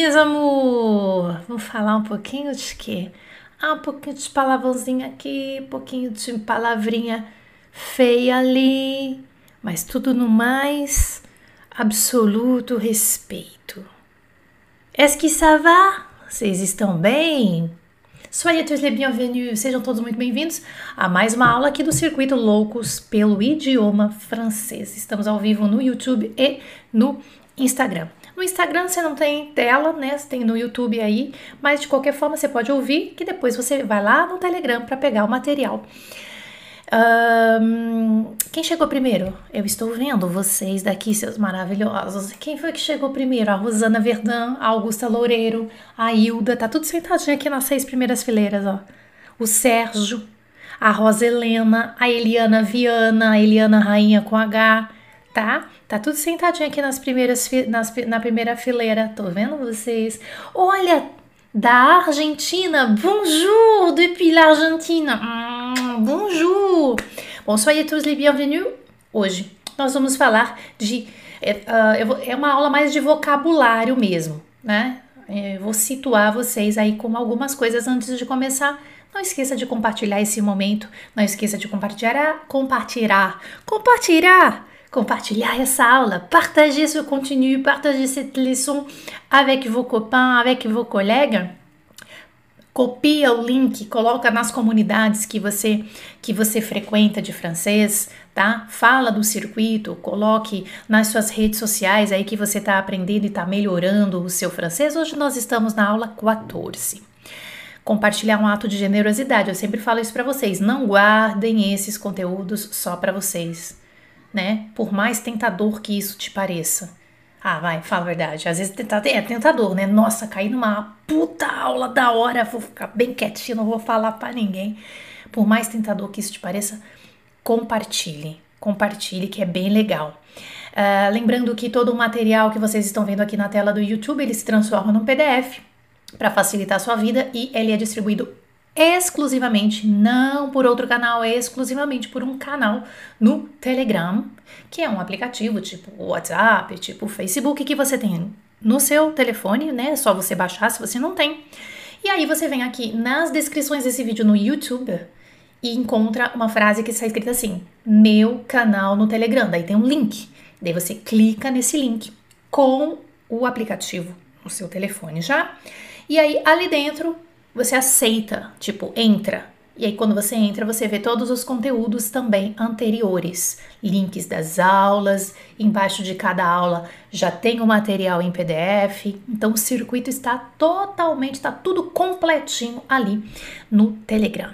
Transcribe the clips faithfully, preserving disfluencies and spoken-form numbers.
meus amor! Vamos falar um pouquinho de quê? Ah, um pouquinho de palavrãozinho aqui, um pouquinho de palavrinha feia ali, mas tudo no mais absoluto respeito. Est-ce que ça va? Vocês estão bem? Soyez tous les bienvenus, sejam todos muito bem-vindos a mais uma aula aqui do Circuito Loucos pelo Idioma Francês. Estamos ao vivo no YouTube e no Instagram. No Instagram você não tem tela, né? Você tem no YouTube aí, mas de qualquer forma você pode ouvir, que depois você vai lá no Telegram para pegar o material. Um, quem chegou primeiro? Eu estou vendo vocês daqui, seus maravilhosos. Quem foi que chegou primeiro? A Rosana Verdun, a Augusta Loureiro, a Hilda, tá tudo sentadinho aqui nas seis primeiras fileiras, ó. O Sérgio, a Rosa Helena, a Eliana Viana, a Eliana Rainha com H, tá? Tá tudo sentadinho aqui nas primeiras, nas, na primeira fileira, tô vendo vocês. Olha, da Argentina, bonjour, depuis l'Argentina. Hum, bonjour. Bom, soyez tous les bienvenus. Hoje nós vamos falar de... É, uh, é uma aula mais de vocabulário mesmo, né? Eu vou situar vocês aí com algumas coisas antes de começar. Não esqueça de compartilhar esse momento. Não esqueça de compartilhar, compartilhar, compartilhar. Compartilhar essa aula, partager ce contenu, partager cette leçon avec vos copains, avec vos collègues. Copia o link, coloca nas comunidades que você, que você frequenta de francês, tá? Fala do circuito, coloque nas suas redes sociais aí que você está aprendendo e está melhorando o seu francês. Hoje nós estamos na aula quatorze. Compartilhar um ato de generosidade, eu sempre falo isso para vocês, não guardem esses conteúdos só para vocês. Né? Por mais tentador que isso te pareça. Ah, vai, fala a verdade. Às vezes é tentador, né? Nossa, caí numa puta aula da hora, vou ficar bem quietinho, não vou falar pra ninguém. Por mais tentador que isso te pareça, compartilhe. Compartilhe, que é bem legal. Uh, lembrando que todo o material que vocês estão vendo aqui na tela do YouTube, ele se transforma num P D F para facilitar a sua vida e ele é distribuído exclusivamente, não por outro canal, é exclusivamente por um canal no Telegram, que é um aplicativo tipo WhatsApp, tipo Facebook, que você tem no seu telefone, né? É só você baixar se você não tem. E aí você vem aqui nas descrições desse vídeo no YouTube e encontra uma frase que está escrita assim, meu canal no Telegram, daí tem um link, daí você clica nesse link com o aplicativo no seu telefone já, e aí ali dentro você aceita, tipo, entra. E aí quando você entra, você vê todos os conteúdos também anteriores. Links das aulas, embaixo de cada aula já tem o material em P D F. Então o circuito está totalmente, está tudo completinho ali no Telegram.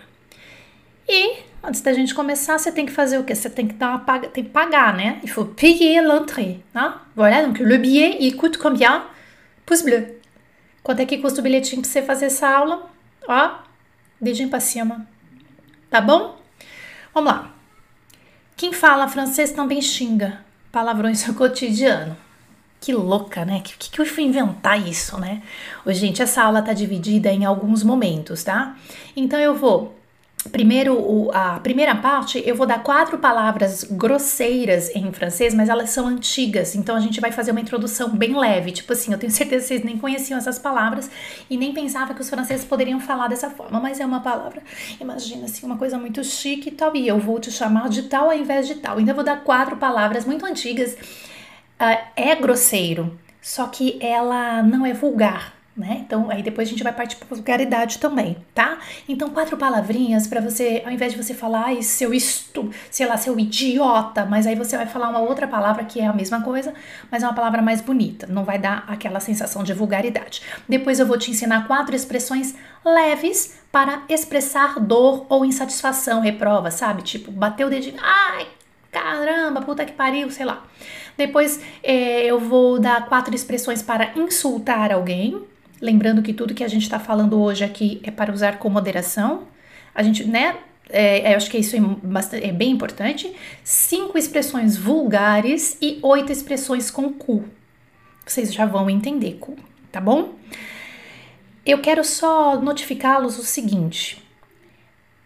E antes da gente começar, você tem que fazer o quê? Você tem que dar uma paga, tem que pagar, né? Il faut payer l'entrée, né? Voilà, donc le billet, il coûte combien? Pouce bleu. Quanto é que custa o bilhetinho pra você fazer essa aula? Ó, dedinho pra cima. Tá bom? Vamos lá. Quem fala francês também xinga palavrões no cotidiano. Que louca, né? Que, que, que eu fui inventar isso, né? Ô, gente, essa aula tá dividida em alguns momentos, tá? Então eu vou... Primeiro, a primeira parte, eu vou dar quatro palavras grosseiras em francês, mas elas são antigas, então a gente vai fazer uma introdução bem leve, tipo assim, eu tenho certeza que vocês nem conheciam essas palavras e nem pensavam que os franceses poderiam falar dessa forma, mas é uma palavra, imagina assim, uma coisa muito chique e tal, e eu vou te chamar de tal ao invés de tal, então eu vou dar quatro palavras muito antigas, uh, é grosseiro, só que ela não é vulgar. Né? Então, aí depois a gente vai partir para vulgaridade também, tá? Então, quatro palavrinhas para você, ao invés de você falar, ai, seu isto, sei lá, seu idiota, mas aí você vai falar uma outra palavra que é a mesma coisa, mas é uma palavra mais bonita, não vai dar aquela sensação de vulgaridade. Depois eu vou te ensinar quatro expressões leves para expressar dor ou insatisfação, reprova, sabe? Tipo, bater o dedinho, ai, caramba, puta que pariu, sei lá. Depois é, eu vou dar quatro expressões para insultar alguém. Lembrando que tudo que a gente está falando hoje aqui é para usar com moderação. A gente, né, é, eu acho que isso é, bastante, é bem importante. Cinco expressões vulgares e oito expressões com cu. Vocês já vão entender cu, tá bom? Eu quero só notificá-los o seguinte.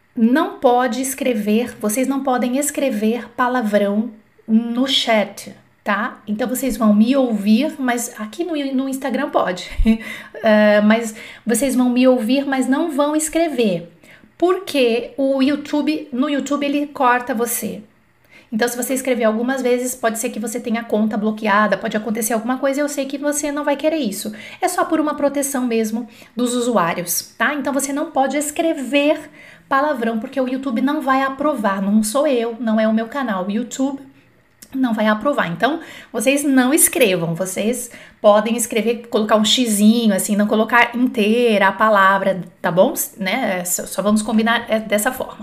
Não pode escrever, vocês não podem escrever palavrão no chat, tá? Então vocês vão me ouvir, mas aqui no, no Instagram pode. uh, mas vocês vão me ouvir, mas não vão escrever. Porque o YouTube, no YouTube ele corta você. Então, se você escrever algumas vezes, pode ser que você tenha a conta bloqueada, pode acontecer alguma coisa e eu sei que você não vai querer isso. É só por uma proteção mesmo dos usuários, tá? Então, você não pode escrever palavrão, porque o YouTube não vai aprovar. Não sou eu, não é o meu canal. O YouTube não vai aprovar. Então, vocês não escrevam. Vocês podem escrever, colocar um xizinho, assim, não colocar inteira a palavra, tá bom? Né? Só vamos combinar dessa forma.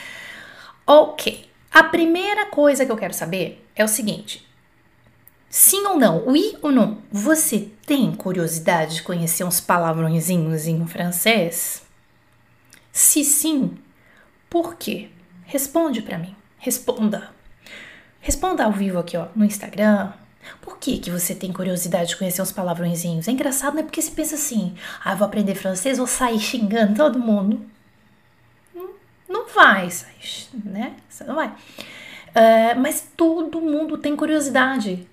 Ok. A primeira coisa que eu quero saber é o seguinte: sim ou não, oui ou não, você tem curiosidade de conhecer uns palavrõezinhos em francês? Se sim, por quê? Responde pra mim, responda. Responda ao vivo aqui, ó, no Instagram. Por que que você tem curiosidade de conhecer uns palavrõezinhos? É engraçado, né? Porque você pensa assim, ah, eu vou aprender francês, vou sair xingando todo mundo. Não vai, né? Você não vai. Uh, mas todo mundo tem curiosidade.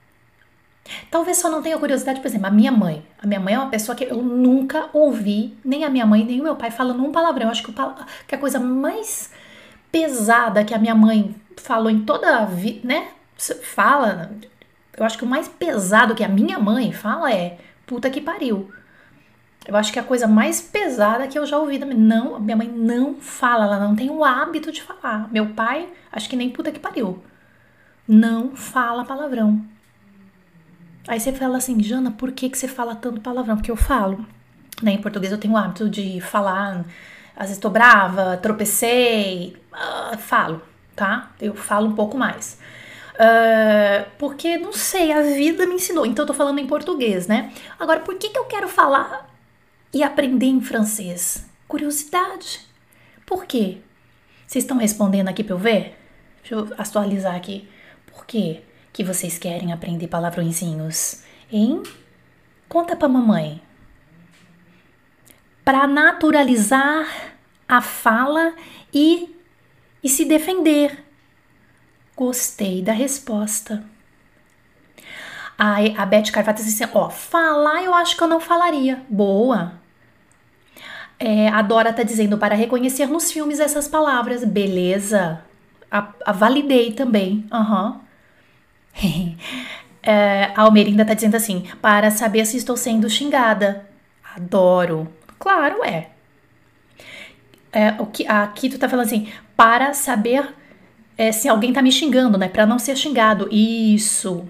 Talvez só não tenha curiosidade, por exemplo, a minha mãe. A minha mãe é uma pessoa que eu nunca ouvi, nem a minha mãe, nem o meu pai falando um palavrão. Eu acho que, o pal- que a coisa mais pesada que a minha mãe falou em toda a vida, né? Fala, eu acho que o mais pesado que a minha mãe fala é puta que pariu. Eu acho que é a coisa mais pesada que eu já ouvi também. Não, minha mãe não fala, ela não tem o hábito de falar. Meu pai, acho que nem puta que pariu. Não fala palavrão. Aí você fala assim, Jana, por que, que você fala tanto palavrão? Porque eu falo. Né? Em português eu tenho o hábito de falar, às vezes tô brava, tropecei, uh, falo, tá? Eu falo um pouco mais. Uh, porque, não sei, a vida me ensinou. Então eu tô falando em português, né? Agora, por que, que eu quero falar e aprender em francês? Curiosidade. Por quê? Vocês estão respondendo aqui pra eu ver? Deixa eu atualizar aqui. Por quê que vocês querem aprender palavrõezinhos? Hein? Conta pra mamãe. Pra naturalizar a fala e, e se defender. Gostei da resposta. A, a Beth Carvalho disse assim, ó, falar eu acho que eu não falaria. Boa. É, a Dora tá dizendo, para reconhecer nos filmes essas palavras. Beleza. A, a validei também. Aham. Uhum. é, a Almerinda tá dizendo assim, para saber se estou sendo xingada. Adoro. Claro, é. é o que, aqui tu tá falando assim, para saber é, se alguém tá me xingando, né? Para não ser xingado. Isso.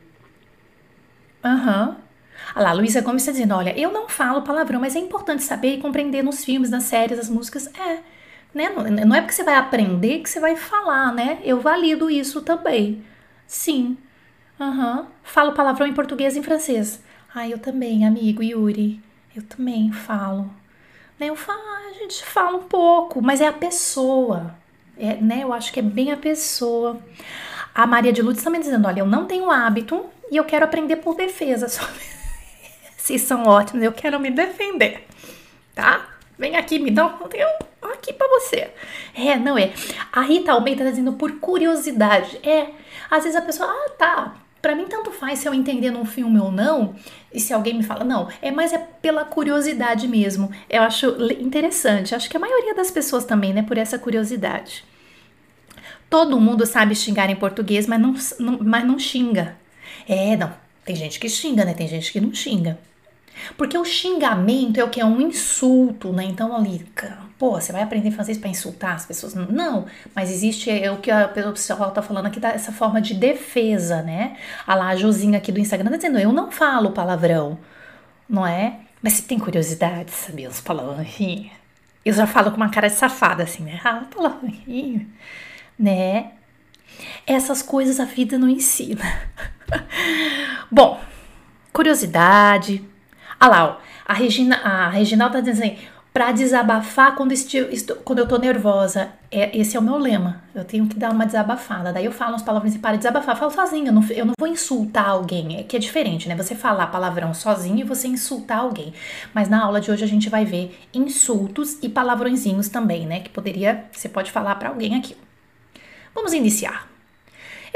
Aham. Uhum. Olha lá, a Luísa Gomes está dizendo, olha, eu não falo palavrão, mas é importante saber e compreender nos filmes, nas séries, nas músicas. É, né? Não, não é porque você vai aprender que você vai falar, né? Eu valido isso também. Sim. Aham. Uhum. Falo palavrão em português e em francês. Ah, eu também, amigo Yuri. Eu também falo. Né? Eu falo, a gente fala um pouco, mas é a pessoa. É, né? Eu acho que é bem a pessoa. A Maria de Lourdes também dizendo, olha, eu não tenho hábito e eu quero aprender por defesa. Só... Vocês são ótimos, eu quero me defender, tá? Vem aqui, me dá um conteúdo aqui pra você. É, não é. A Rita Almeida tá dizendo por curiosidade. É, às vezes a pessoa, ah, tá, pra mim tanto faz se eu entender num filme ou não, e se alguém me fala, não, é mais é pela curiosidade mesmo. Eu acho interessante, acho que a maioria das pessoas também, né, por essa curiosidade. Todo mundo sabe xingar em português, mas não, não, mas não xinga. É, não, tem gente que xinga, né, tem gente que não xinga. Porque o xingamento é o que? É um insulto, né? Então ali, pô, você vai aprender francês pra insultar as pessoas? Não, mas existe é o que a pessoa tá falando aqui, essa forma de defesa, né? A lá, a Josinha aqui do Instagram tá dizendo, eu não falo palavrão, não é? Mas você tem curiosidade de saber os palavrões? Eu já falo com uma cara de safada, assim, né? Ah, palavrões, né? Essas coisas a vida não ensina. Bom, curiosidade... Ah lá, ó, a Regina, a Reginalda tá dizendo assim, pra desabafar quando, estou, estou, quando eu tô nervosa. É, esse é o meu lema, eu tenho que dar uma desabafada. Daí eu falo as palavras e para desabafar, eu falo sozinha, eu não, eu não vou insultar alguém, é que é diferente, né? Você falar palavrão sozinho e você insultar alguém. Mas na aula de hoje a gente vai ver insultos e palavrõezinhos também, né? Que poderia, você pode falar pra alguém aqui. Vamos iniciar.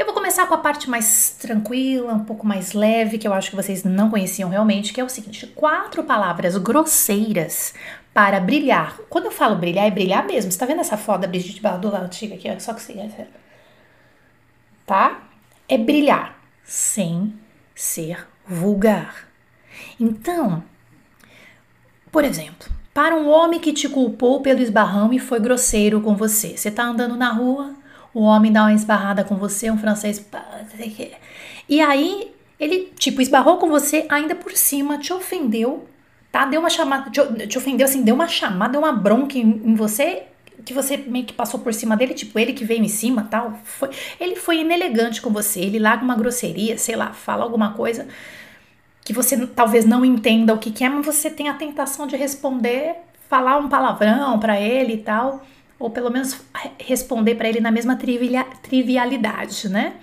Eu vou começar com a parte mais tranquila, um pouco mais leve, que eu acho que vocês não conheciam realmente, que é o seguinte: quatro palavras grosseiras para brilhar. Quando eu falo brilhar, é brilhar mesmo. Você tá vendo essa foto da Brigitte Bardot lá antiga aqui? Só que você... Tá? É brilhar sem ser vulgar. Então, por exemplo, para um homem que te culpou pelo esbarrão e foi grosseiro com você. Você tá andando na rua, o homem dá uma esbarrada com você, um francês... E aí, ele, tipo, esbarrou com você, ainda por cima, te ofendeu, tá? Deu uma chamada, te, te ofendeu assim, deu uma chamada, deu uma bronca em, em você, que você meio que passou por cima dele, tipo, ele que veio em cima, tal. Foi, ele foi inelegante com você, ele larga uma grosseria, sei lá, fala alguma coisa que você talvez não entenda o que, que é, mas você tem a tentação de responder, falar um palavrão pra ele e tal, ou pelo menos responder pra ele na mesma trivia, trivialidade, né?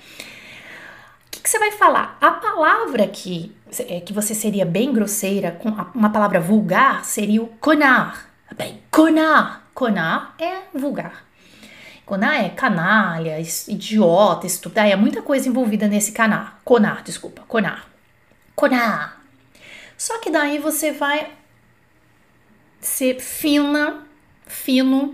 O que, que você vai falar? A palavra que, que você seria bem grosseira, com uma palavra vulgar, seria o connard. Bem, connard. Connard é vulgar. Connard é canalha, idiota, estúpido. É muita coisa envolvida nesse canard. Connard, desculpa. Connard. Connard. Só que daí você vai ser fina, fino.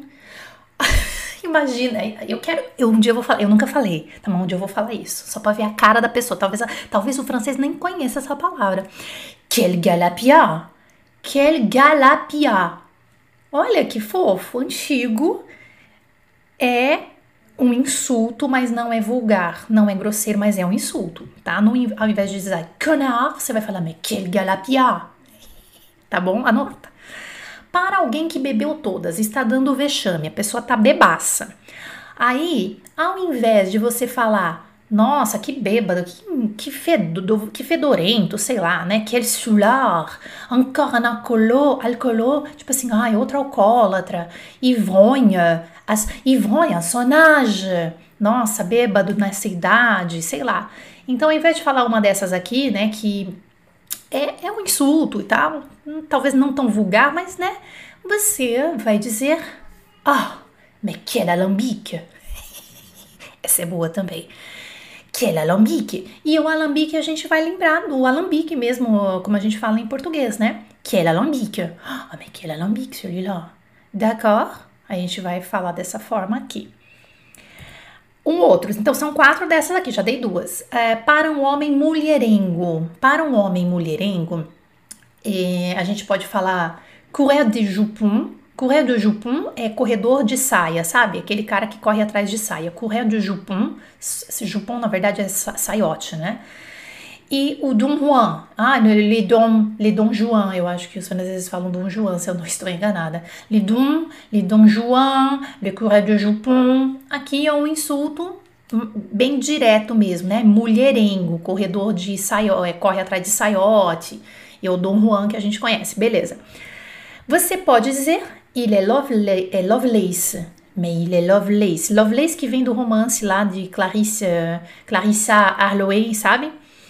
Imagina, eu quero, eu, um dia eu vou falar, eu nunca falei, tá bom? Um dia eu vou falar isso, só pra ver a cara da pessoa. Talvez, talvez o francês nem conheça essa palavra. Quel galapia. Quel galapia. Olha que fofo, antigo. É um insulto, mas não é vulgar. Não é grosseiro, mas é um insulto, tá? No, ao invés de dizer connard, você vai falar, mais quel galapia. Tá bom? Anota. Para alguém que bebeu todas, está dando vexame, a pessoa tá bebaça. Aí, ao invés de você falar, nossa, que bêbado, que, que, fedo, que fedorento, sei lá, né? Quel soulard, encore un alcoolo, alcoolo, tipo assim, ai, outro alcoólatra, ivronha, as, ivronha, sonage, nossa, bêbado nessa idade, sei lá. Então, ao invés de falar uma dessas aqui, né, que é, é um insulto e tal, talvez não tão vulgar, mas, né, você vai dizer, ah, oh, mais quel alambique. Essa é boa também. Quel alambique. E o alambique a gente vai lembrar do alambique mesmo, como a gente fala em português, né? Quel alambique. Ah, oh, mais quel alambique, celui-là. D'accord? A gente vai falar dessa forma aqui. Um outro, então são quatro dessas aqui, já dei duas. É, para um homem mulherengo. Para um homem mulherengo, é, a gente pode falar courir de jupon. Courir de jupon é corredor de saia, sabe? Aquele cara que corre atrás de saia. Courir de jupon, esse jupon na verdade é saiote, né? E o Don Juan, ah, le Don, le Don Juan, eu acho que os franceses falam Don Juan, se eu não estou enganada. Le Don, le Don Juan, le Coureur de Jupon. Aqui é um insulto bem direto mesmo, né? Mulherengo, corredor de saiote, corre atrás de saiote. E o Don Juan que a gente conhece, beleza. Você pode dizer, il est lovely, é Lovelace. Mais il est Lovelace. Lovelace que vem do romance lá de Clarisse, Clarissa Harlowe, sabe?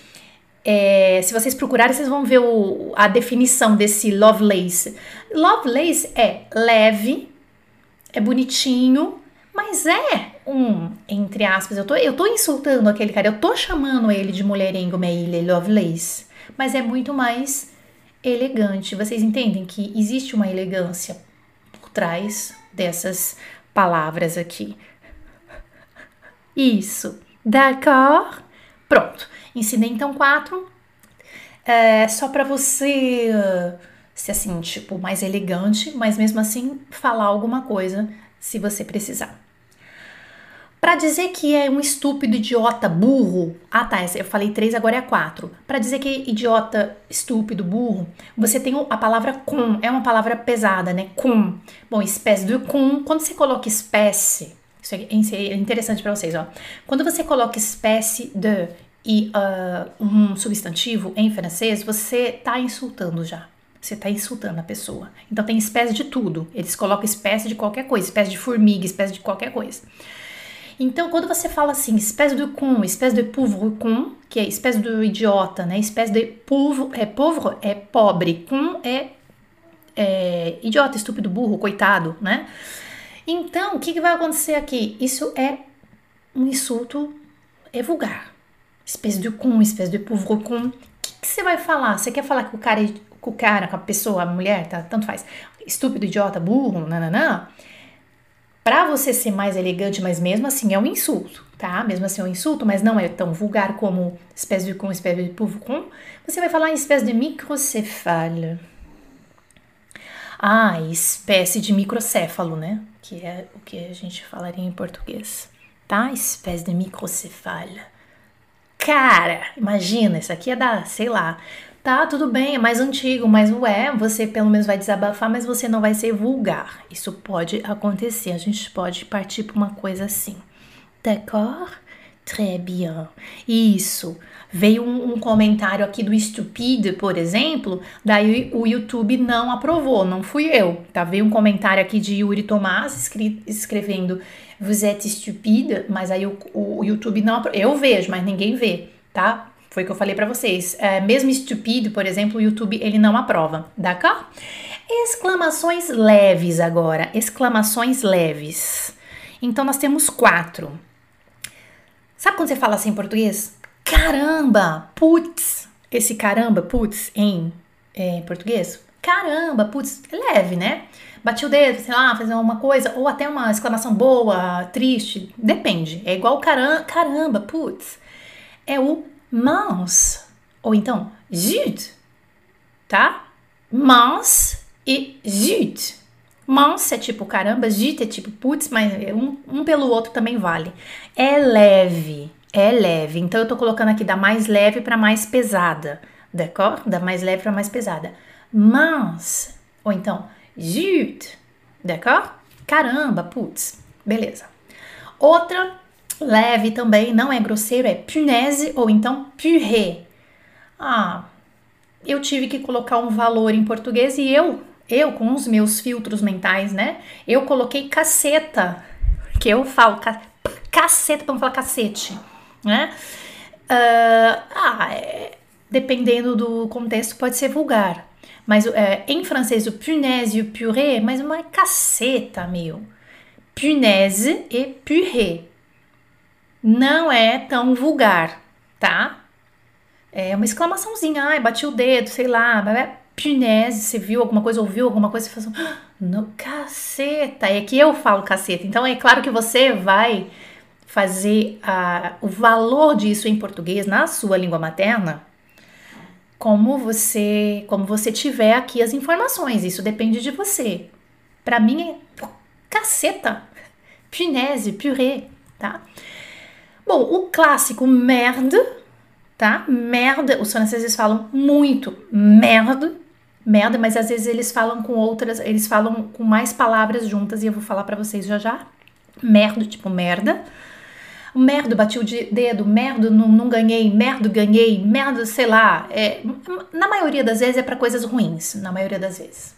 É, se vocês procurarem, vocês vão ver o, a definição desse Lovelace. Lovelace é leve, é bonitinho, mas é um, entre aspas, eu tô, eu tô insultando aquele cara, eu tô chamando ele de mulherengo, mais il est Lovelace, mas é muito mais elegante. Vocês entendem que existe uma elegância por trás dessas palavras aqui. Isso, d'accord? Pronto. Ensinei então quatro, é, só para você ser assim, tipo, mais elegante, mas mesmo assim falar alguma coisa se você precisar. Para dizer que é um estúpido, idiota, burro, ah tá, eu falei três, agora é quatro. Para dizer que é idiota, estúpido, burro, você tem a palavra com, é uma palavra pesada, né? Com. Bom, espécie de com, quando você coloca espécie, isso é interessante para vocês, ó. Quando você coloca espécie de e uh, um substantivo em francês, você tá insultando já. Você tá insultando a pessoa. Então tem espécie de tudo. Eles colocam espécie de qualquer coisa, espécie de formiga, espécie de qualquer coisa. Então quando você fala assim, espécie de con, espécie de pauvre con, que é espécie de idiota, né? Espécie de pauvre, é pauvre é pobre, con é, é idiota, estúpido, burro, coitado, né? Então o que, que vai acontecer aqui? Isso é um insulto é vulgar. Espécie de con, espécie de pauvre con. O que, que você vai falar? Você quer falar com o cara, com o cara, com a pessoa, a mulher, tá? Tanto faz. Estúpido, idiota, burro, nananã. Pra você ser mais elegante, mas mesmo assim é um insulto, tá? Mesmo assim é um insulto, mas não é tão vulgar como espécie de con, espécie de pauvre con. Você vai falar em espécie de microcéphale. Ah, espécie de microcéfalo, né? Que é o que a gente falaria em português, tá? Espécie de microcéphale. Cara, imagina, isso aqui é da, sei lá, tá, tudo bem, é mais antigo, mas ué, você pelo menos vai desabafar, mas você não vai ser vulgar. Isso pode acontecer, a gente pode partir para uma coisa assim. D'accord? Très bien. Isso. Veio um, um comentário aqui do Stupide, por exemplo, daí o YouTube não aprovou, não fui eu, tá? Veio um comentário aqui de Yuri Tomás escri- escrevendo Vous êtes stupide, mas aí o, o YouTube não aprovou. Eu vejo, mas ninguém vê, tá? Foi o que eu falei pra vocês. É, mesmo stupide, por exemplo, o YouTube ele não aprova, d'accord? Exclamações leves agora, exclamações leves. Então nós temos quatro. Sabe quando você fala assim em português? Caramba, putz. Esse caramba, putz, em é, português? Caramba, putz, é leve, né? Bati o dedo, sei lá, fazer uma coisa, ou até uma exclamação boa, triste, depende. É igual caramba, caramba, putz. É o mince, ou então zut, tá? Mince e zut. Mince é tipo caramba, zut é tipo putz, mas um, um pelo outro também vale. É leve, é leve. Então eu tô colocando aqui da mais leve para mais pesada, d'accord? Da mais leve para mais pesada. Mince, ou então zut, d'accord? Caramba, putz, beleza. Outra leve também, não é grosseiro, é punaise ou então purée. Ah, eu tive que colocar um valor em português e eu, eu com os meus filtros mentais, né? Eu coloquei caceta, que eu falo ca, caceta pra não falar cacete, né? Uh, ah, é, dependendo do contexto pode ser vulgar. Mas é, em francês o punaise e o purée, mas uma caceta, meu. Punaise e purée. Não é tão vulgar, tá? É uma exclamaçãozinha, ai, bati o dedo, sei lá, punaise, você viu alguma coisa, ouviu alguma coisa, você faz um, no caceta, é que eu falo caceta, então é claro que você vai fazer a, o valor disso em português, na sua língua materna, como você, como você tiver aqui as informações, isso depende de você. Pra mim é caceta, punaise, purée, tá? Bom, o clássico merde, tá? Merda, os franceses falam muito merda, merda, mas às vezes eles falam com outras, eles falam com mais palavras juntas e eu vou falar pra vocês já já. Merda, tipo merda. Merda, bati o dedo, merda, não, não ganhei, merda, ganhei, merda, sei lá. É, na maioria das vezes é pra coisas ruins, na maioria das vezes.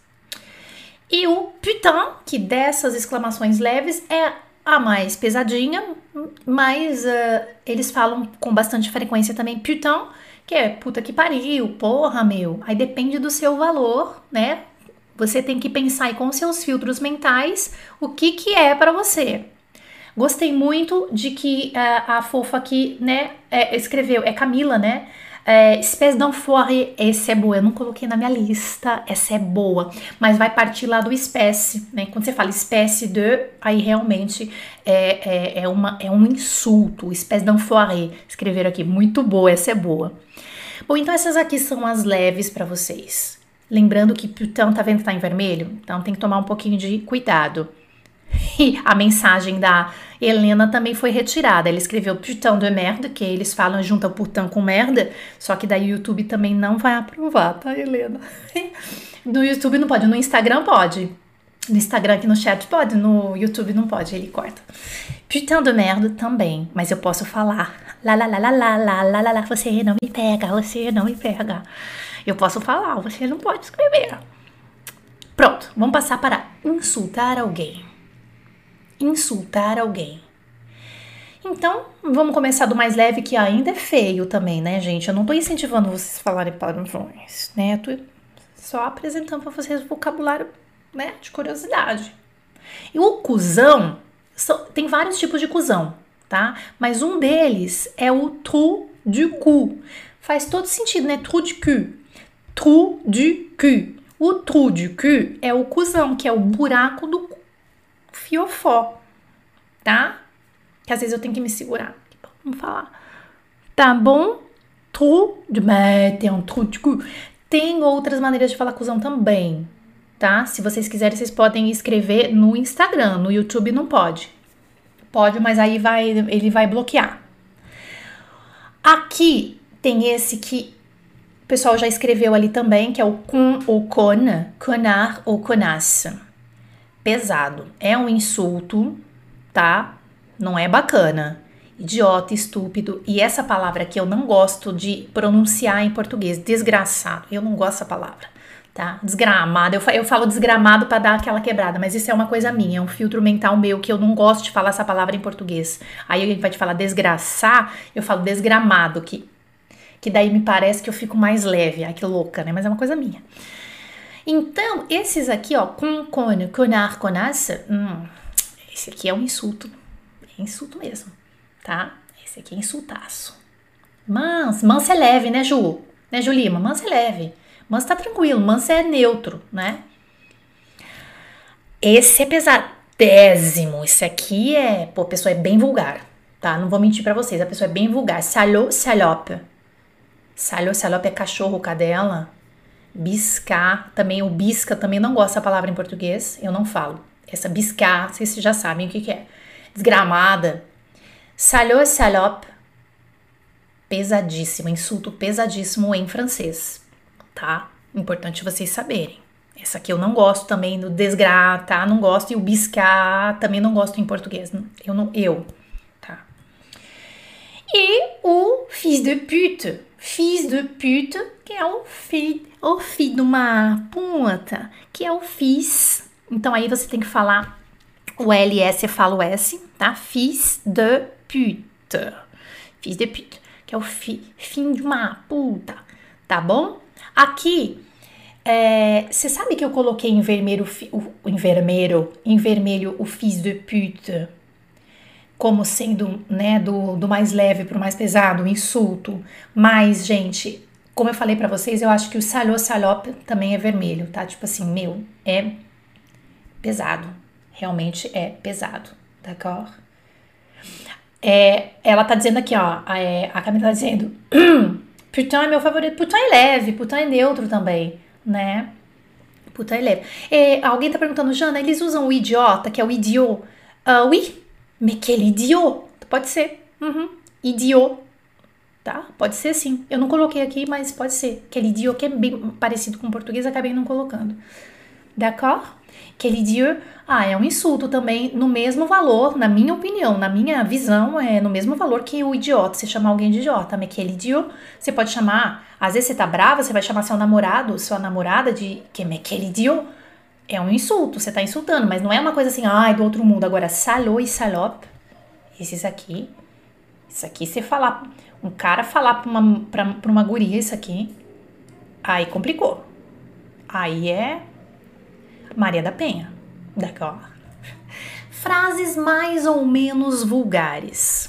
E o putain, que dessas exclamações leves é a mais pesadinha, mas uh, eles falam com bastante frequência também putain, que é puta que pariu, porra, meu. Aí depende do seu valor, né? Você tem que pensar aí com os seus filtros mentais o que que é pra você. Gostei muito de que uh, a fofa aqui, né, é, escreveu, é Camila, né? É, espécie d'enfoiré, essa é boa, eu não coloquei na minha lista, essa é boa, mas vai partir lá do espécie, né? Quando você fala espécie de, aí realmente é, é, é, uma, é um insulto, espécie d'enfoiré, escreveram aqui, muito boa, essa é boa. Bom, então essas aqui são as leves pra vocês. Lembrando que putain, tá vendo que tá em vermelho? Então tem que tomar um pouquinho de cuidado. E a mensagem da Helena também foi retirada. Ela escreveu putain de merda, que eles falam junto putain com merda, só que daí o YouTube também não vai aprovar, tá, Helena? No YouTube não pode, no Instagram pode. No Instagram aqui no chat pode, no YouTube não pode, ele corta. Putain de merda também, mas eu posso falar. Lá, lá, lá, lá, lá, lá, lá, lá, lá, você não me pega, você não me pega. Eu posso falar, você não pode escrever. Pronto, vamos passar para insultar alguém. Insultar alguém. Então, vamos começar do mais leve, que ainda é feio também, né, gente? Eu não tô incentivando vocês a falarem palavrões, né? Eu tô só apresentando pra vocês o vocabulário, né, de curiosidade. E o cuzão, são, tem vários tipos de cuzão, tá? Mas um deles é o trou du cul. Faz todo sentido, né? Trou du cul. Trou du cul. O trou du cul é o cuzão, que é o buraco do fiofó, tá? Que às vezes eu tenho que me segurar. Vamos falar. Tá bom? Trou du... Mas tem um trou du cul. Tem outras maneiras de falar cuzão também, tá? Se vocês quiserem, vocês podem escrever no Instagram. No YouTube não pode. Pode, mas aí vai, ele vai bloquear. Aqui tem esse que o pessoal já escreveu ali também, que é o con ou con, connard ou connasse. Pesado. É um insulto, tá? Não é bacana. Idiota, estúpido. E essa palavra que eu não gosto de pronunciar em português, desgraçado. Eu não gosto dessa palavra, tá? Desgramado. Eu, eu falo desgramado pra dar aquela quebrada, mas isso é uma coisa minha, é um filtro mental meu que eu não gosto de falar essa palavra em português. Aí a gente vai te falar desgraçar, eu falo desgramado, que, que daí me parece que eu fico mais leve. Ai, que louca, né? Mas é uma coisa minha. Então, esses aqui, ó, con, con, connard, connasse, hum, esse aqui é um insulto. É insulto mesmo. Tá? Esse aqui é insultaço. Mans, manso é leve, né, Ju? Né, Ju Lima? Manso é leve. Manso tá tranquilo. Manso é neutro, né? Esse é pesadésimo. Esse aqui é... Pô, a pessoa é bem vulgar, tá? Não vou mentir pra vocês. A pessoa é bem vulgar. Salô, salope. Salô, salope é cachorro, cadela. Biscar. Também o bisca, também não gosto dessa palavra em português. Eu não falo. Essa biscar, vocês já sabem o que que é. Desgramada. Salô, salope, pesadíssimo, insulto pesadíssimo em francês, tá? Importante vocês saberem. Essa aqui eu não gosto também do desgra, tá? Não gosto. E o biscar também não gosto em português. Eu não, eu, tá? E o fils de pute. Fils de pute, que é o filho, o filho de uma puta, que é o fils. Então aí você tem que falar o L S, eu falo S, tá? Fils de pute. Fils de pute, que é o fi, fim de uma puta, tá bom? Aqui, você é, sabe que eu coloquei em vermelho, o, em vermelho, em vermelho o fils de pute, como sendo, né, do, do mais leve pro mais pesado, o insulto. Mas, gente, como eu falei pra vocês, eu acho que o salô, salope também é vermelho, tá? Tipo assim, meu, é pesado. Realmente é pesado, d'accord? É, ela tá dizendo aqui, ó, a, a Camila tá dizendo, putain é meu favorito, putain é leve, putain é neutro também, né? Putain é leve. É, alguém tá perguntando, Jana, eles usam o idiota, que é o idiot? Uh, oui, mais quel idiot? Pode ser, uhum. Idiot, tá? Pode ser sim. Eu não coloquei aqui, mas pode ser. Aquele idiot que é bem parecido com o português, acabei não colocando. D'accord? Aquele idiot, ah, é um insulto também, no mesmo valor, na minha opinião, na minha visão, é no mesmo valor que o idiota, você chamar alguém de idiota, mas aquele idiot, você pode chamar, às vezes você tá brava, você vai chamar seu namorado, sua namorada de, que é aquele idiot, é um insulto, você tá insultando, mas não é uma coisa assim, ai, do outro mundo. Agora, salô e salope, esses aqui, isso aqui, você falar, um cara falar pra uma, pra, pra uma guria isso aqui, aí complicou, aí é Maria da Penha, d'accord? Frases mais ou menos vulgares.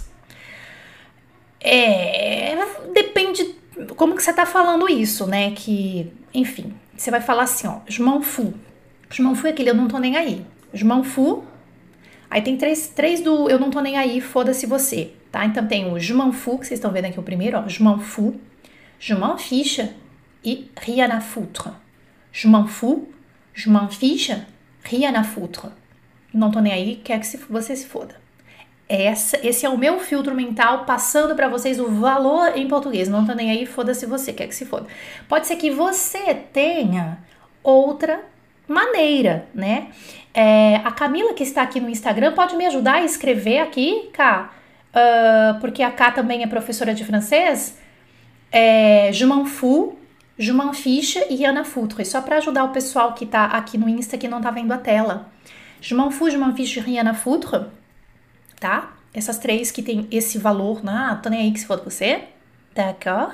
É, depende como que você tá falando isso, né? Que, enfim, você vai falar assim, ó, je m'en fous. Je m'en fous é aquele eu não tô nem aí. Je m'en fous. Aí tem três, três do eu não tô nem aí, foda-se você, tá? Então tem o je m'en fous, que vocês estão vendo aqui o primeiro, ó, je m'en fous, je m'en fiche e rien à foutre. Je m'en fous, je m'en fiche, rien à foutre. Não tô nem aí, quer que se, você se foda. Essa, esse é o meu filtro mental passando pra vocês o valor em português. Não tô nem aí, foda-se você, quer que se foda. Pode ser que você tenha outra maneira, né? É, a Camila, que está aqui no Instagram, pode me ajudar a escrever aqui, Cá? Uh, porque a Cá também é professora de francês. É, je m'en fous, je m'en fiche e rien à foutre. Só para ajudar o pessoal que tá aqui no Insta que não tá vendo a tela. Je m'en fous, je m'en fiche, rien à foutre. Tá? Essas três que tem esse valor. Ah, tô nem aí que se for você. D'accord?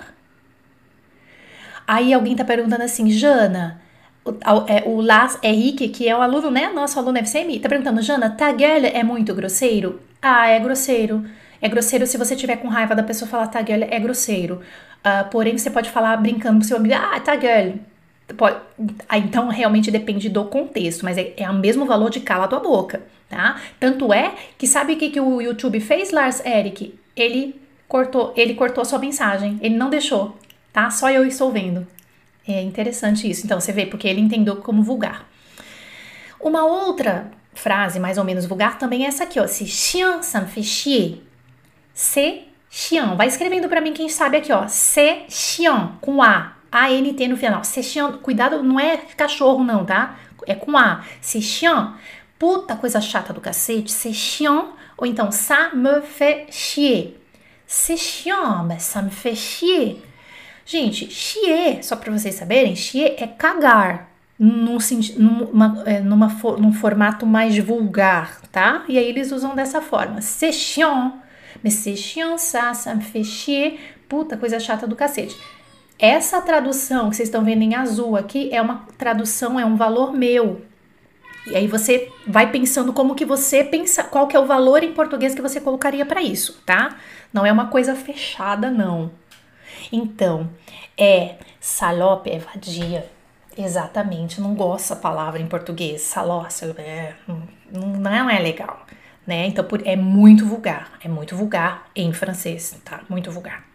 Aí alguém tá perguntando assim, Jana, o, é, o Lars Henrique, que é o aluno, né? Nosso aluno F C M, tá perguntando, Jana, ta gueule é muito grosseiro? Ah, é grosseiro. É grosseiro se você tiver com raiva da pessoa falar ta gueule, é grosseiro. Uh, porém, você pode falar brincando com seu amigo, ah, ta gueule. Pode, ah, então, realmente depende do contexto, mas é, é o mesmo valor de cala tua boca, tá? Tanto é que sabe o que, que o YouTube fez, Lars Erik? Ele cortou, ele cortou a sua mensagem, ele não deixou, tá? Só eu estou vendo. É interessante isso. Então, você vê, porque ele entendeu como vulgar. Uma outra frase mais ou menos vulgar também é essa aqui, ó. C'est chiant, ça me fait chier. C'est chiant. Vai escrevendo pra mim quem sabe aqui, ó. C'est chiant, com A. A N T no final. C'est chiant. Cuidado, não é cachorro não, tá? É com A. C'est chiant. Puta coisa chata do cacete. C'est chiant. Ou então, ça me fait chier. C'est chiant, mas ça me fait chier. Gente, chier, só pra vocês saberem, chier é cagar. Num, numa, numa, num formato mais vulgar, tá? E aí eles usam dessa forma. C'est chiant. Mais c'est chiant ça, ça me fait chier. Puta, coisa chata do cacete. Essa tradução que vocês estão vendo em azul aqui é uma tradução, é um valor meu. E aí você vai pensando como que você pensa, qual que é o valor em português que você colocaria para isso, tá? Não é uma coisa fechada, não. Então, é salope, é vadia. Exatamente, não gosto dessa palavra em português. Salope, é, não é legal, né? Então, é muito vulgar, é muito vulgar em francês, tá? Muito vulgar.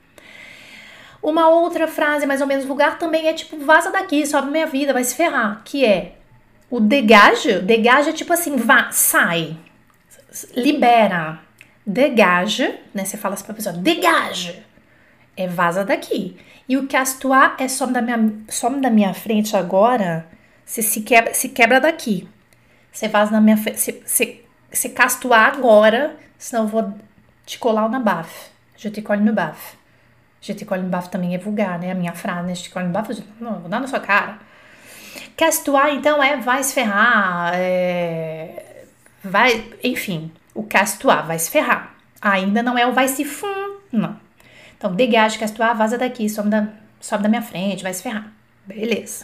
Uma outra frase mais ou menos vulgar também é tipo, vaza daqui, sobe minha vida, vai se ferrar, que é o dégage. Dégage é tipo assim, vá, sai, libera. Dégage, né? Você fala assim pra pessoa, dégage, é vaza daqui. E o casse-toi é some da minha, some da minha frente agora, você se quebra, se quebra daqui. Você vaza na minha frente, você, você, você casse-toi agora, senão eu vou te colar na baffe. Je te colle no baffe. Je te colle no baffe também é vulgar, né? A minha frase, né? Je te colle no baffe, não, eu vou dar na sua cara. Casse-toi, então, é vai se ferrar, é, vai, enfim, o casse-toi, vai se ferrar. Ainda não é o vai se fum, não. Então, dégage, casse-toi, vaza daqui, sobe da, sobe da minha frente, vai se ferrar. Beleza.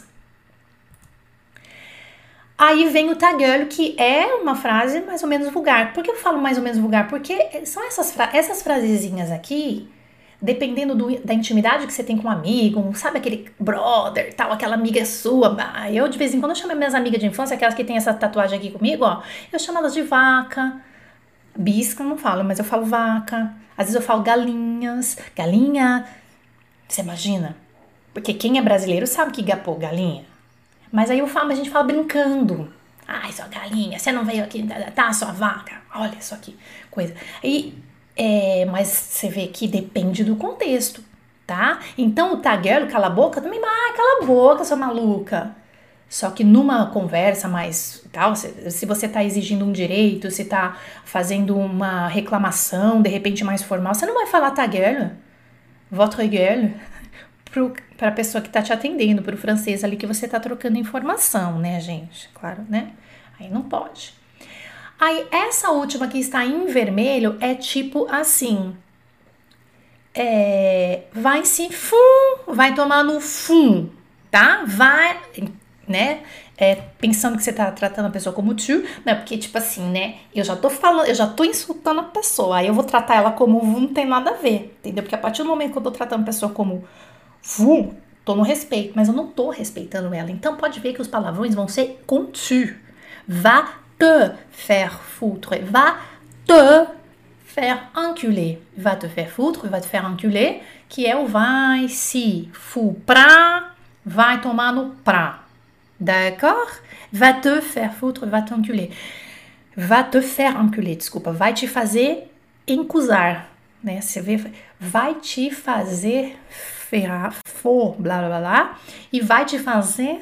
Aí vem o ta gueule, que é uma frase mais ou menos vulgar. Por que eu falo mais ou menos vulgar? Porque são essas, fra essas frasezinhas aqui, dependendo do, da intimidade que você tem com um amigo, sabe aquele brother, tal, aquela amiga sua. Eu, de vez em quando, eu chamo minhas amigas de infância, aquelas que tem essa tatuagem aqui comigo, ó. Eu chamo elas de vaca. Bisca eu não falo, mas eu falo vaca. Às vezes eu falo galinhas, galinha, você imagina? Porque quem é brasileiro sabe que gapou galinha. Mas aí eu falo, a gente fala brincando. Ai, sua galinha, você não veio aqui, tá, sua vaca, olha isso aqui, coisa. E, é, mas você vê que depende do contexto, tá? Então o ta gueule, cala a boca, também, ah, cala a boca, sua maluca. Só que numa conversa mais tal, se, se você tá exigindo um direito, se tá fazendo uma reclamação, de repente mais formal, você não vai falar ta gueule, votre gueule, para a pessoa que tá te atendendo, pro francês ali que você tá trocando informação, né, gente? Claro, né? Aí não pode. Aí essa última que está em vermelho é tipo assim, é, vai se fum, vai tomar no fum, tá? Vai... né, é, pensando que você tá tratando a pessoa como tu, né, porque tipo assim, né, eu já tô falando, eu já tô insultando a pessoa, aí eu vou tratar ela como vu, não tem nada a ver, entendeu? Porque a partir do momento que eu tô tratando a pessoa como vu, tô no respeito, mas eu não tô respeitando ela, então pode ver que os palavrões vão ser com tu. Va te faire foutre, va te faire enculer, va te faire foutre, va te faire enculer, que é o vai se fu pra, vai tomar no pra. D'accord? Va te faire foutre, va t'enculer. Va te faire enculer, desculpa. Vai te fazer encusar, né? Você vê, vai te fazer ferrar, for, blá, blá, blá, e vai te fazer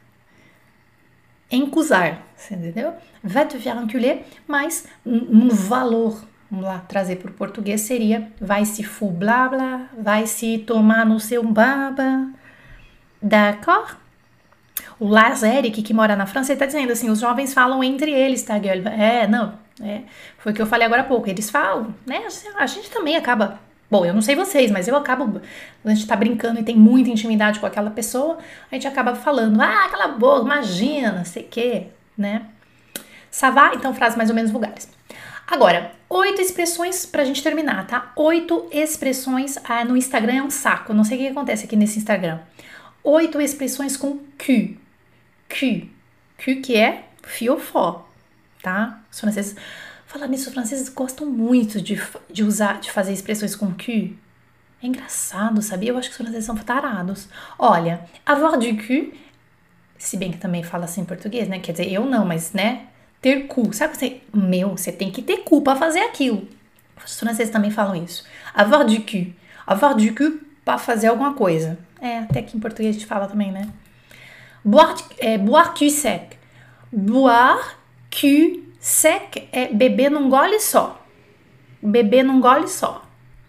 encusar, você entendeu? Va te faire enculer, mas um valor, vamos lá, trazer para o português seria vai se fu, blá, blá, vai se tomar no seu baba. D'accord? O Lars Erik, que mora na França, ele tá dizendo assim, os jovens falam entre eles, tá, gueule? É, não, é, foi o que eu falei agora há pouco, eles falam, né, a gente também acaba, bom, eu não sei vocês, mas eu acabo, a gente tá brincando e tem muita intimidade com aquela pessoa, a gente acaba falando, ah, cala a boca, imagina, sei o quê, né? Ça va? Então, frases mais ou menos vulgares. Agora, oito expressões pra gente terminar, tá? Oito expressões. Ah, no Instagram é um saco. Não sei o que acontece aqui nesse Instagram. Oito expressões com Q. Q. Q que é fiofó, tá? Os franceses... Falar nisso, os franceses gostam muito de, de usar, de fazer expressões com Q. É engraçado, sabia? Eu acho que os franceses são tarados. Olha, avoir du cul, se bem que também fala assim em português, né? Quer dizer, eu não, mas, né? Ter cu. Sabe você, meu, você tem que ter cu pra fazer aquilo. Os franceses também falam isso. Avoir du cul. Avoir du cul pra fazer alguma coisa. É, até que em português a gente fala também, né? Boire, é, boire cul sec. Boire cul sec é beber num gole só. Beber num gole só.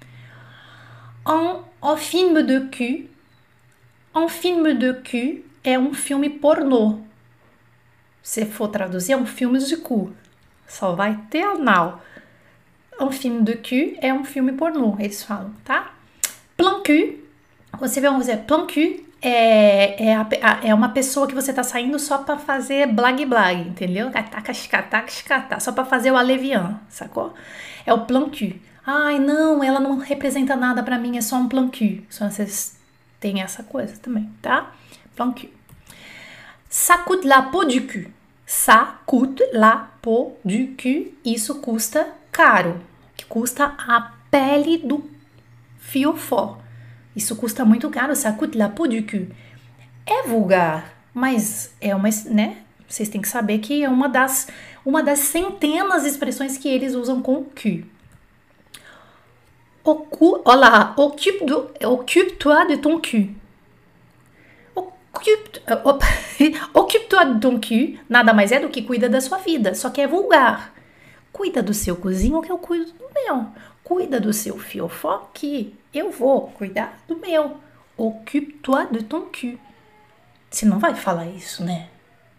Un, un film de cul. Un film de cul é um filme pornô. Se for traduzir, é um filme de cu. Só vai ter anal. Um filme de cul é um filme pornô, eles falam, tá? Plan cul, você vê, vamos dizer, plan cul é, é, a, é uma pessoa que você tá saindo só pra fazer blag blag, entendeu? Só pra fazer o alevian, sacou? É o plan cul. Ai, não, ela não representa nada pra mim, é só um plan cul. Só vocês têm essa coisa também, tá? Plan cul. Ça coûte la peau du cul. Ça coûte la peau du cul. Isso custa caro. Que custa a pele do fiofó. Isso custa muito caro. Ça coûte la peau du cul. É vulgar, mas é uma, né? Vocês têm que saber que é uma das, uma das centenas de expressões que eles usam com cul. Ocu, olha lá, occupe-toi occupe de ton cul. Occupe-toi de ton cul nada mais é do que cuida da sua vida, só que é vulgar. Cuida do seu cozinho que eu cuido do meu. Cuida do seu fiofó que eu vou cuidar do meu. Occupe-toi de ton cul. Você não vai falar isso, né?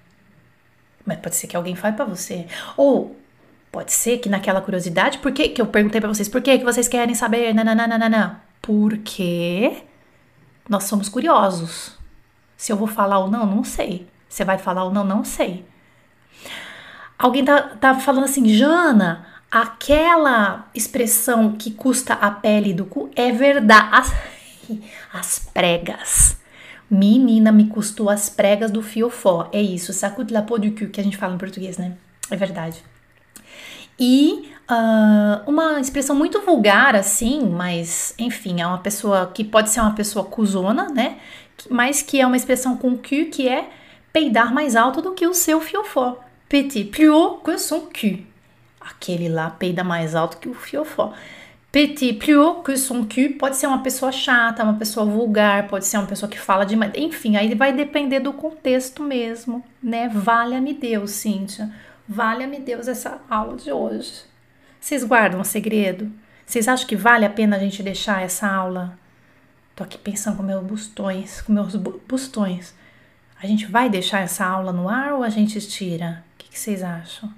Mas pode ser que alguém fale pra você. Ou pode ser que naquela curiosidade, por que que eu perguntei pra vocês, por que que vocês querem saber? Nananana. Porque nós somos curiosos. Se eu vou falar ou não, não sei. Você vai falar ou não, não sei. Alguém tá, tá falando assim, Jana, aquela expressão que custa a pele do cu é verdade. As, as pregas. Menina, me custou as pregas do fiofó. É isso, ça coûte la peau du cul, que a gente fala em português, né? É verdade. E uh, uma expressão muito vulgar, assim, mas, enfim, é uma pessoa que pode ser uma pessoa cuzona, né? Mas que é uma expressão com cul, que é peidar mais alto do que o seu fiofó. Petit plus haut que son cul. Aquele lá peida mais alto que o fiofó. Petit plus haut que son cul pode ser uma pessoa chata, uma pessoa vulgar, pode ser uma pessoa que fala demais. Enfim, aí vai depender do contexto mesmo, né? Valha-me Deus, Cíntia. Valha-me Deus essa aula de hoje. Vocês guardam um segredo? Vocês acham que vale a pena a gente deixar essa aula? Tô aqui pensando com meus bustões, com meus bustões. A gente vai deixar essa aula no ar ou a gente tira? O que, que vocês acham?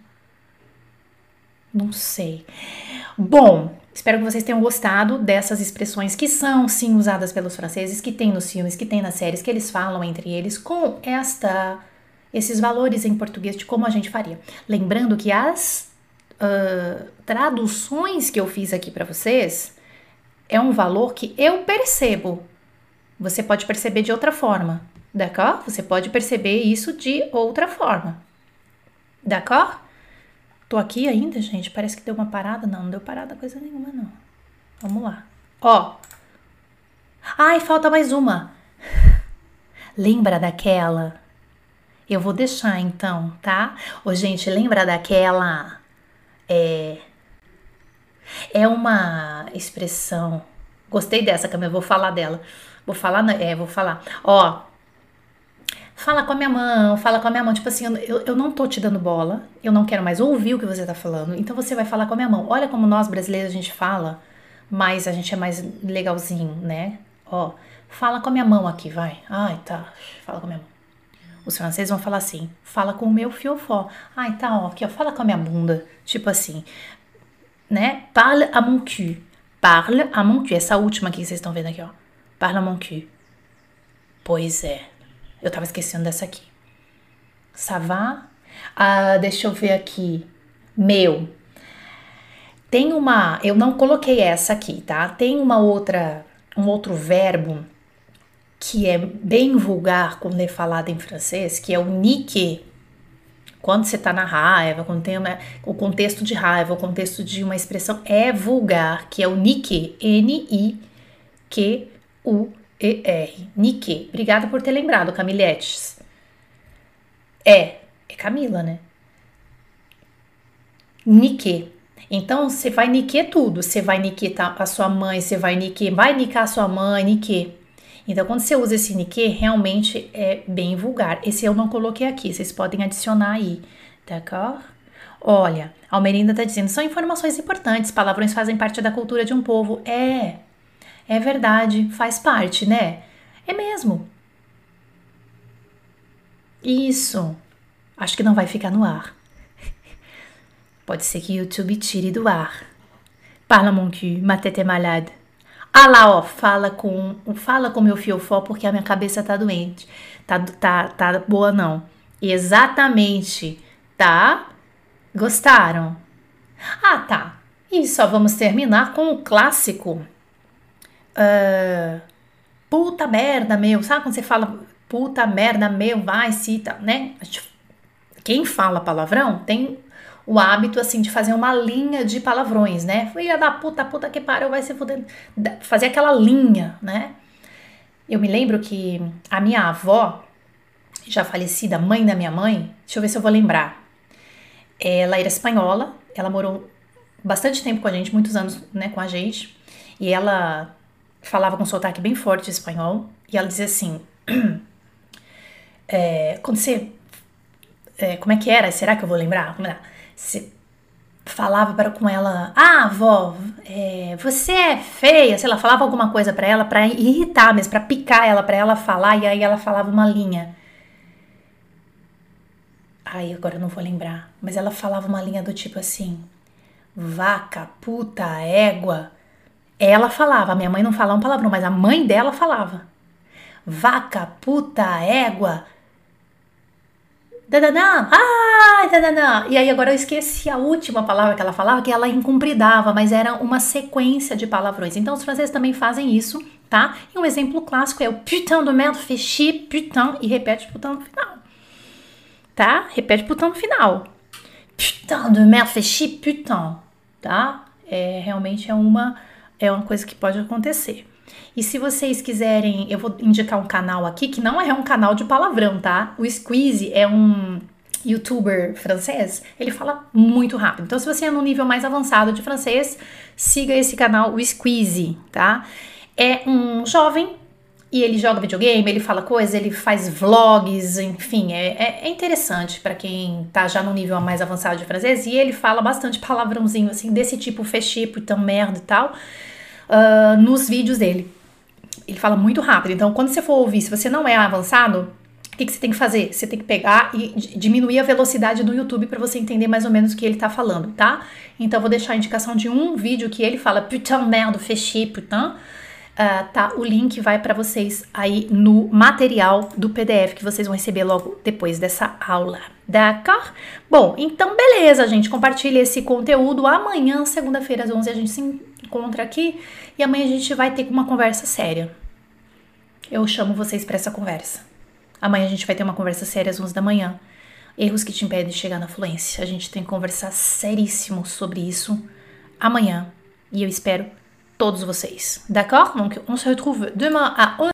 Não sei. Bom, espero que vocês tenham gostado dessas expressões que são, sim, usadas pelos franceses, que tem nos filmes, que tem nas séries, que eles falam entre eles, com esta, esses valores em português de como a gente faria. Lembrando que as uh, traduções que eu fiz aqui para vocês é um valor que eu percebo. Você pode perceber de outra forma, d'accord? Você pode perceber isso de outra forma, d'accord? Tô aqui ainda, gente. Parece que deu uma parada. Não, não deu parada coisa nenhuma, não. Vamos lá. Ó. Ai, falta mais uma. Lembra daquela? Eu vou deixar, então, tá? Ô, gente, lembra daquela... É... É uma expressão... Gostei dessa, Camila. Eu vou falar dela. Vou falar... É, vou falar. Ó... Fala com a minha mão, fala com a minha mão. Tipo assim, eu, eu não tô te dando bola. Eu não quero mais ouvir o que você tá falando. Então você vai falar com a minha mão. Olha como nós brasileiros a gente fala, mas a gente é mais legalzinho, né? Ó, fala com a minha mão aqui, vai. Ai, tá. Fala com a minha mão. Os franceses vão falar assim, fala com o meu fiofó. Ai, tá, ó, aqui, ó. Fala com a minha bunda. Tipo assim, né? Parle à mon cul. Parle à mon cul. Essa última aqui que vocês estão vendo aqui, ó. Parle à mon cul. Pois é. Eu tava esquecendo dessa aqui. Ça va? Ah, deixa eu ver aqui. Meu. Tem uma, eu não coloquei essa aqui, tá? Tem uma outra, um outro verbo que é bem vulgar quando é falado em francês, que é o niquer. Quando você tá na raiva, quando tem uma, o contexto de raiva, o contexto de uma expressão é vulgar, que é o niquer, N I Q U E R, niquer. Obrigada por ter lembrado, Camiletes. É, é Camila, né? Niquer. Então, você vai niquer tudo. Você vai niquer a sua mãe, você vai niquer, vai nicar a sua mãe, niquer. Então, quando você usa esse niquer, realmente é bem vulgar. Esse eu não coloquei aqui, vocês podem adicionar aí, d'accord? Olha, a Almerinda tá dizendo, são informações importantes, palavrões fazem parte da cultura de um povo. É, é verdade, faz parte, né? É mesmo. Isso. Acho que não vai ficar no ar. Pode ser que o YouTube tire do ar. Parla mon cul, ma tête est malade. Ah lá, ó, fala com, fala com meu fiofó porque a minha cabeça tá doente. Tá, tá, tá boa não. Exatamente, tá? Gostaram? Ah, tá. E só vamos terminar com o clássico. Uh, puta merda, meu. Sabe quando você fala puta merda, meu, vai, cita, né? Quem fala palavrão tem o hábito, assim, de fazer uma linha de palavrões, né? Filha da puta, puta que pariu, vai se fuder. Fazer aquela linha, né? Eu me lembro que a minha avó, já falecida, mãe da minha mãe, deixa eu ver se eu vou lembrar. Ela era espanhola, ela morou bastante tempo com a gente, muitos anos, né, com a gente. E ela falava com um sotaque bem forte de espanhol. E ela dizia assim, é, quando você... É, como é que era? Será que eu vou lembrar? Como era? Você falava para com ela, ah, avó, é, você é feia, sei lá, falava alguma coisa para ela, para irritar mesmo, para picar ela, para ela falar, e aí ela falava uma linha. Ai, agora eu não vou lembrar, mas ela falava uma linha do tipo assim, vaca, puta, égua. Ela falava, a minha mãe não falava um palavrão, mas a mãe dela falava. Vaca, puta, égua. Dananã, ai, dananã. E aí agora eu esqueci a última palavra que ela falava, que ela incumpridava, mas era uma sequência de palavrões. Então os franceses também fazem isso, tá? E um exemplo clássico é o putain de merde, fait chier, putain, e repete putain no final, tá? Repete putain no final. Putain de merde, fait chier, putain, tá? É, realmente é uma, é uma coisa que pode acontecer. E se vocês quiserem, eu vou indicar um canal aqui que não é um canal de palavrão, tá? O Squeezie é um youtuber francês, ele fala muito rápido. Então, se você é no nível mais avançado de francês, siga esse canal, o Squeezie, tá? É um jovem e ele joga videogame, ele fala coisas, ele faz vlogs, enfim, é, é, é interessante pra quem tá já no nível mais avançado de francês. E ele fala bastante palavrãozinho, assim, desse tipo, fechê, putain, merda e tal, uh, nos vídeos dele. Ele fala muito rápido, então quando você for ouvir, se você não é avançado, o que, que você tem que fazer? Você tem que pegar e diminuir a velocidade do YouTube para você entender mais ou menos o que ele tá falando, tá? Então eu vou deixar a indicação de um vídeo que ele fala putain, merde, fechê, putain. Uh, tá, o link vai para vocês aí no material do P D F que vocês vão receber logo depois dessa aula, d'accord? Bom, então beleza, gente, compartilha esse conteúdo. Amanhã, segunda-feira, às onze, a gente se encontra aqui e amanhã a gente vai ter uma conversa séria. Eu chamo vocês para essa conversa. Amanhã a gente vai ter uma conversa séria às onze da manhã. Erros que te impedem de chegar na fluência. A gente tem que conversar seríssimo sobre isso amanhã e eu espero todos vocês. D'accord? Donc, on se retrouve demain à onze.